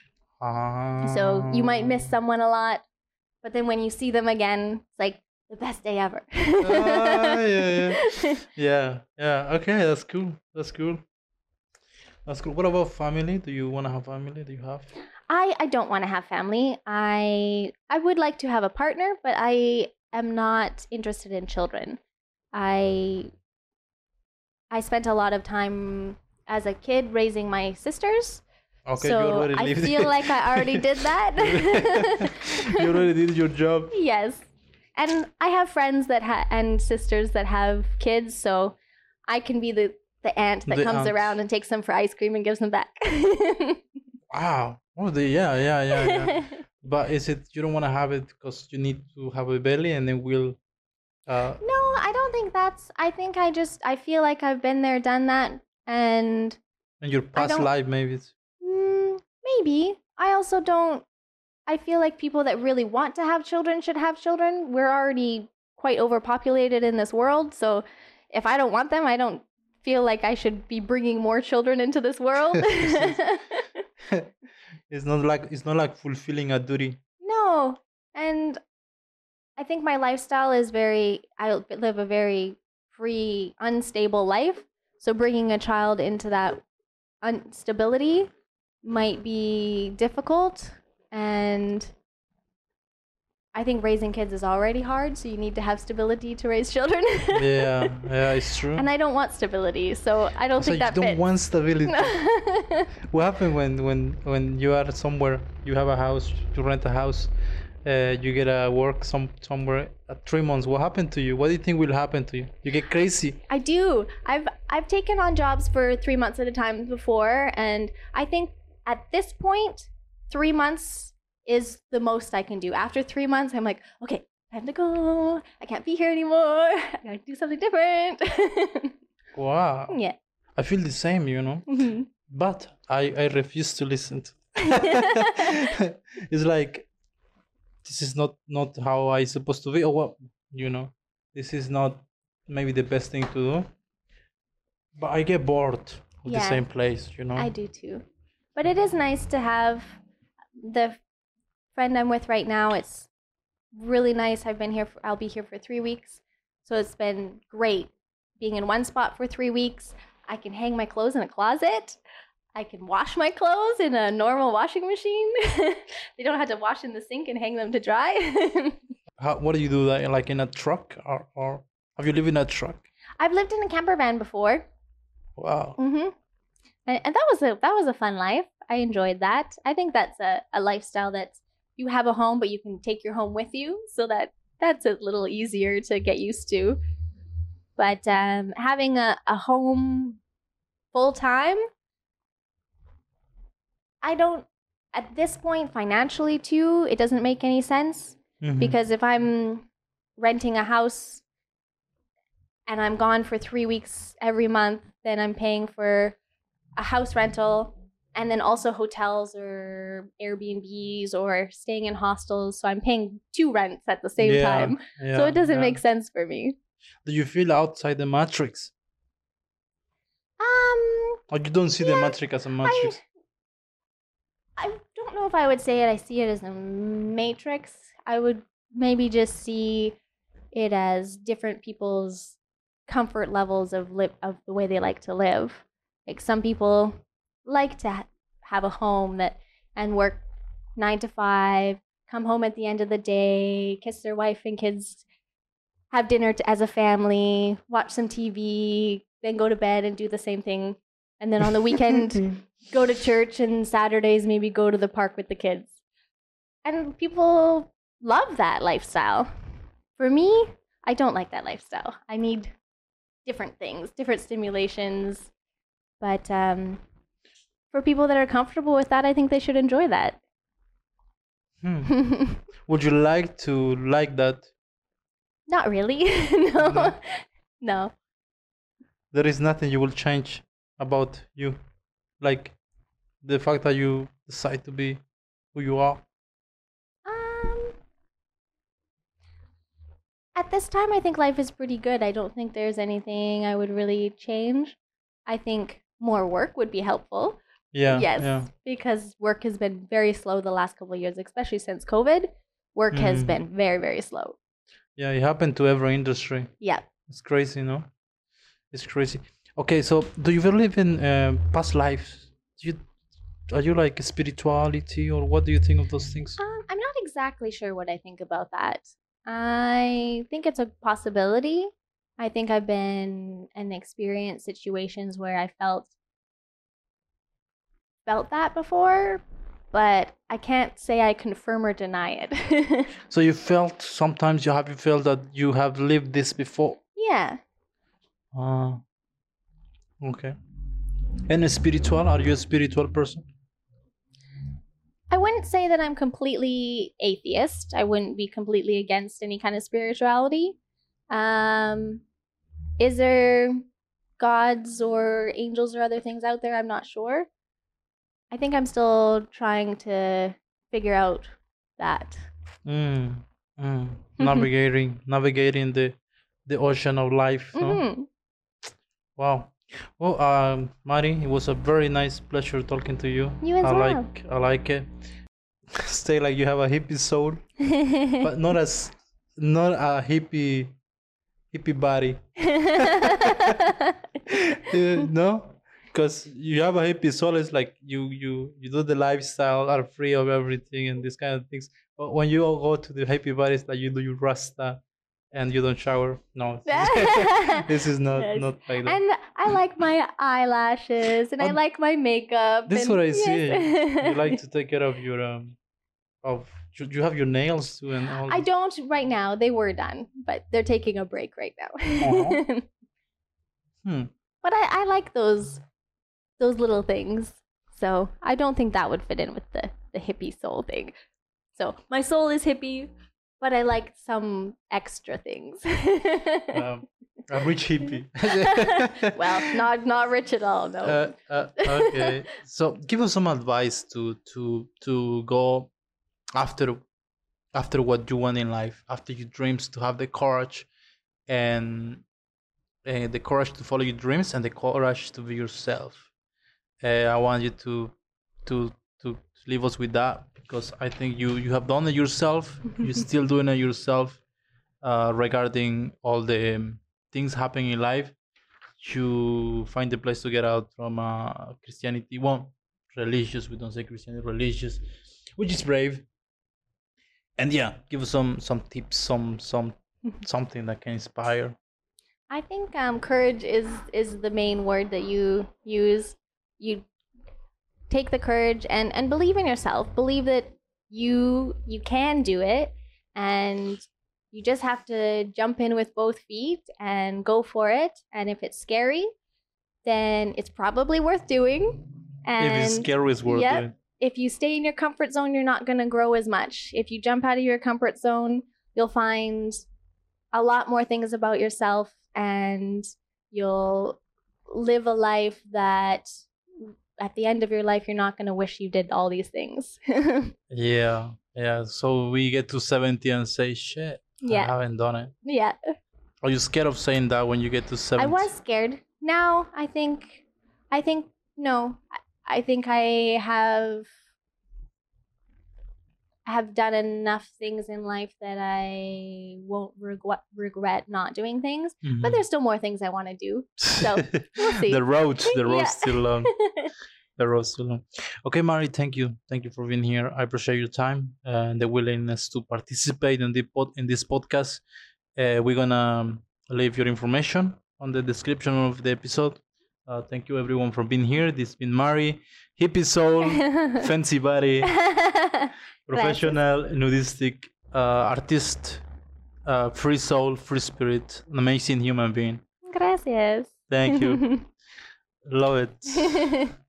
So you might miss someone a lot, but then when you see them again, it's like the best day ever. Ah, yeah, yeah. Yeah, yeah. Okay, that's cool. That's cool. That's cool. What about family? Do you want to have family? Do you have? I, I don't want to have family. I I would like to have a partner, but I am not interested in children. I I spent a lot of time as a kid raising my sisters. Okay, you so already I lived feel it. like I already did that. You already did your job. Yes. And I have friends that ha- and sisters that have kids, so I can be the, the aunt that The comes aunt. around and takes them for ice cream and gives them back. Wow. Oh, the, yeah, yeah, yeah, yeah. But is it you don't want to have it because you need to have a belly and then we'll. Uh, No, I don't think that's. I think I just. I feel like I've been there, done that, and in your past don't- life, maybe. It's, mm, maybe. I also don't. I feel like people that really want to have children should have children. We're already quite overpopulated in this world, so if I don't want them, I don't feel like I should be bringing more children into this world. it's not like it's not like fulfilling a duty. No, and I think my lifestyle is very. I live a very free, unstable life. So bringing a child into that instability might be difficult, and I think raising kids is already hard. So you need to have stability to raise children. Yeah, yeah, it's true. And I don't want stability, so I don't So think you that don't fits. want stability. What happened when when when you are somewhere? You have a house. You rent a house. Uh, you get a work some somewhere at three months. What happened to you? What do you think will happen to you? You get crazy. I do. I've I've taken on jobs for three months at a time before, and I think at this point, three months is the most I can do. After three months, I'm like, okay, time to go. I can't be here anymore. I gotta do something different. Wow. Yeah. I feel the same, you know. Mhm. But I I refuse to listen to. It's like this is not not how I supposed to be, or what, you know. This is not maybe the best thing to do. But I get bored of the Yeah. same place, you know. I do too. But it is nice to have the friend I'm with right now. It's really nice. I've been here for, I'll be here for three weeks. So it's been great being in one spot for three weeks. I can hang my clothes in a closet. I can wash my clothes in a normal washing machine. They don't have to wash in the sink and hang them to dry. How, what do you do that like in a truck, or, or have you lived in a truck? I've lived in a camper van before. Wow. Mm-hmm. And, and that was a that was a fun life. I enjoyed that. I think that's a, a lifestyle that you have a home, but you can take your home with you, so that that's a little easier to get used to. But um, having a, a home full time, I don't, at this point financially too, it doesn't make any sense. Mhm. Because if I'm renting a house and I'm gone for three weeks every month, then I'm paying for a house rental and then also hotels or Airbnbs or staying in hostels. So I'm paying two rents at the same Yeah, time. yeah, So it doesn't yeah. make sense for me. Do you feel outside the matrix? Um, Or you don't see the Yeah, matrix as a matrix? I don't know if I would say it. I see it as a matrix. I would maybe just see it as different people's comfort levels of live of the way they like to live. Like some people like to ha- have a home that and work nine to five, come home at the end of the day, kiss their wife and kids, have dinner t- as a family, watch some T V, then go to bed and do the same thing. And then on the weekend, go to church, and Saturdays maybe go to the park with the kids. And people love that lifestyle. For me, I don't like that lifestyle. I need different things, different stimulations. But um, for people that are comfortable with that, I think they should enjoy that. Hmm. Would you like to like that? Not really. no. No. No. There is nothing you will change about you, like the fact that you decide to be who you are. Um, at this time, I think life is pretty good. I don't think there's anything I would really change. I think more work would be helpful. Yeah. Yes, Yeah. because work has been very slow the last couple of years, especially since COVID. Work has Mm. been very, very slow. Yeah. It happened to every industry. Yeah. It's crazy, no? It's crazy. Okay, so do you believe in uh, past lives? Do you are you like spirituality, or what do you think of those things? Um, I'm not exactly sure what I think about that. I think it's a possibility. I think I've been and experienced situations where I felt felt that before, but I can't say I confirm or deny it. So you felt sometimes you have you felt that you have lived this before. Yeah. Ah, okay. And a spiritual? Are you a spiritual person? I wouldn't say that I'm completely atheist. I wouldn't be completely against any kind of spirituality. Um, is there gods or angels or other things out there? I'm not sure. I think I'm still trying to figure out that. Mm, mm. Navigating, navigating the the ocean of life. No? Mhm. Wow. Well, um, Mari, it was a very nice pleasure talking to you. You as I well. like, I like it. Stay like you have a hippie soul, but not as, not a hippie, hippie body. Uh, no, because you have a hippie soul. It's like you, you, you do the lifestyle, are free of everything and these kind of things. But when you all go to the hippie body, it's like you do your rasta, and you don't shower. No, this is not Yes. not like that. And I like my eyelashes, and I Oh, like my makeup. This is and what I see. yes. You like to take care of your um, of you, you have your nails too and all. I this- don't right now. They were done, but they're taking a break right now. Uh-huh. Hmm. But I, I like those those little things. So I don't think that would fit in with the, the hippie soul thing. So my soul is hippie, but I like some extra things. Um, a rich hippie. well, not not rich at all, no. Uh, uh, okay. So give us some advice to to to go after after what you want in life, after your dreams, to have the courage and uh, the courage to follow your dreams and the courage to be yourself. Uh, I want you to to to leave us with that, because I think you you have done it yourself. You're still doing it yourself. Uh, regarding all the um, things happening in life, you find the place to get out from uh, Christianity. Well, religious. We don't say Christianity, religious, which is brave. And yeah, give us some some tips, some some something that can inspire. I think um, courage is is the main word that you use. You take the courage and and believe in yourself. Believe that you you can do it, and you just have to jump in with both feet and go for it. And if it's scary, then it's probably worth doing. And If it's scary, it's worth yep. it. If you stay in your comfort zone, you're not going to grow as much. If you jump out of your comfort zone, you'll find a lot more things about yourself, and you'll live a life that at the end of your life, you're not going to wish you did all these things. Yeah, yeah. So we get to seventy and say, shit, Yeah. I haven't done it. Yeah. Are you scared of saying that when you get to seventy? I was scared. Now I think, I think, no, I, I think I have, I have done enough things in life that I won't regret, regret not doing things. Mhm. But there's still more things I want to do. So we'll see. The road, the road's Yeah. still long. The road's still long. Okay, Mari, thank you. Thank you for being here. I appreciate your time and the willingness to participate in the pod, in this podcast. Uh, we're gonna leave your information on the description of the episode. Uh, thank you everyone for being here. This has been Mari, hippie soul, fancy body, professional nudistic uh, artist, uh, free soul, free spirit, an amazing human being. Gracias. Thank you. Love it.